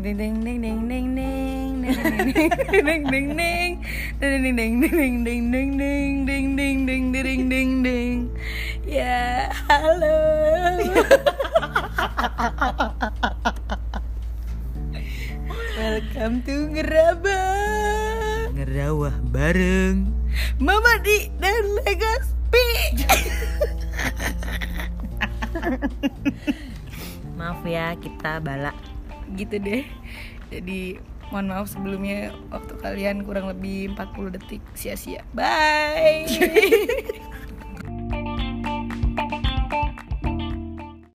Ya, halo. Welcome to Ngerawah bareng Mama Di dan Legaspi. Maaf ya, kita bala. Gitu deh. Jadi mohon maaf sebelumnya, waktu kalian kurang lebih 40 detik sia-sia. Bye.